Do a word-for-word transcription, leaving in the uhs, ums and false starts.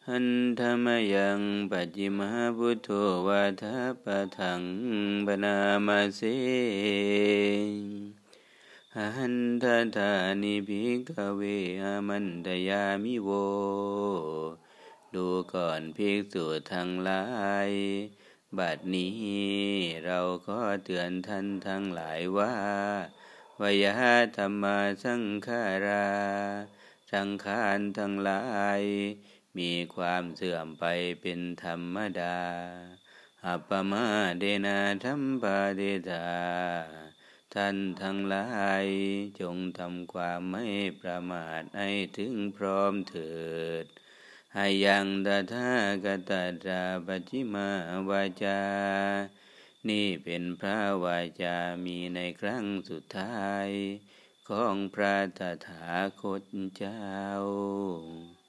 หันธรรมยังปัจจิมหาพุทโธวาทาปะทังบนามาเสหันทธานิภิกขเวอามันตยามิโวดูก่อนภิกษุทั้งหลายบัดนี้เราขอเตือนท่านทั้งหลายว่าวยะธัมมาสังขาราสังขารทั้งหลายมีความเสื่อมไปเป็นธรรมดาอัปปมาเดนะธัมปะเดธาท่านทั้งหลายจงทำความไม่ประมาทให้ถึงพร้อมเถิดอายังตถาคตตาปัจฉิมาวาจานี่เป็นพระวาจามีในครั้งสุดท้ายของพระตถาคตเจ้า